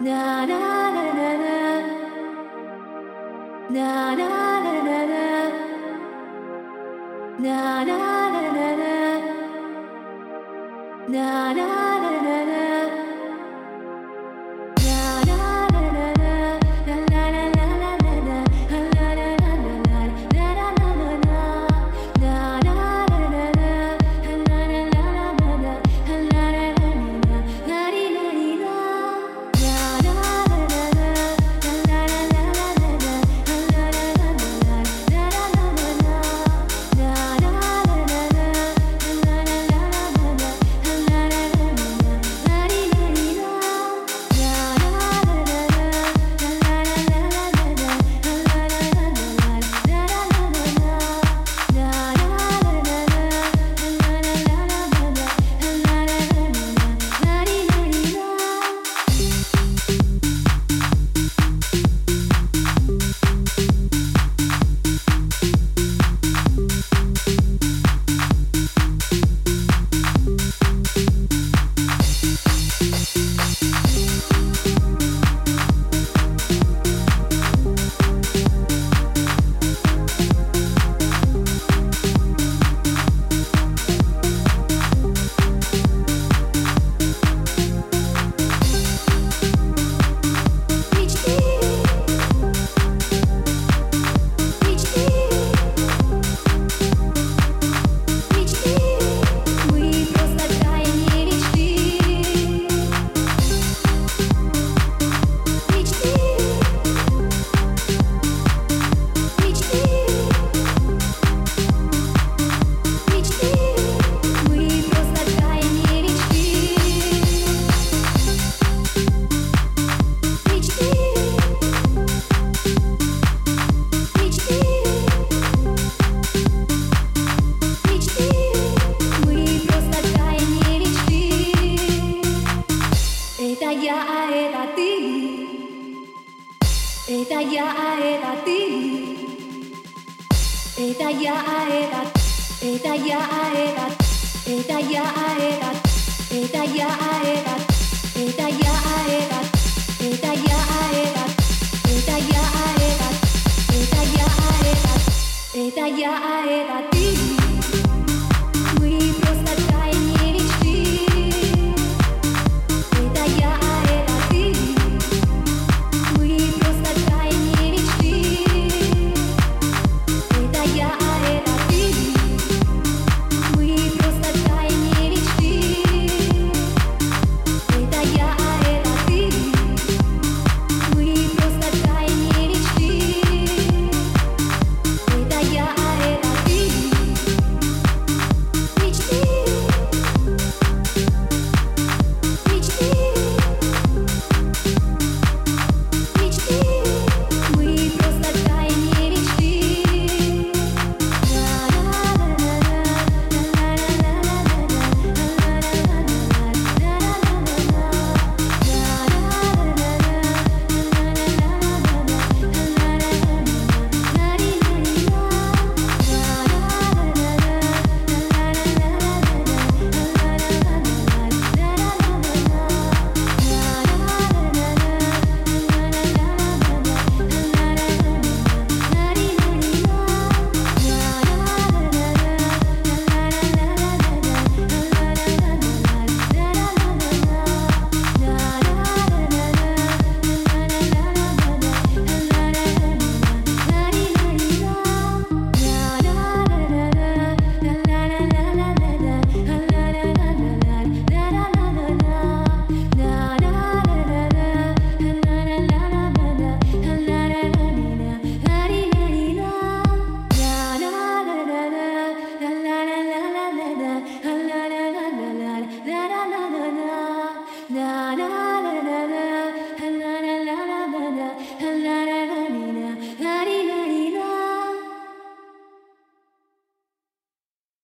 Na na na na na. Na na na na na. Na na na na na. Na na na na na. Это я, а это ты. Это я, а это я, а это я, а это я, а это я, а это я, а это я, а это я, а это